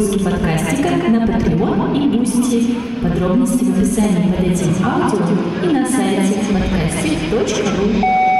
выпуски подкастика на Patreon и Boosty. Подробности в описании под этим аудио и на сайте podcastic.ru.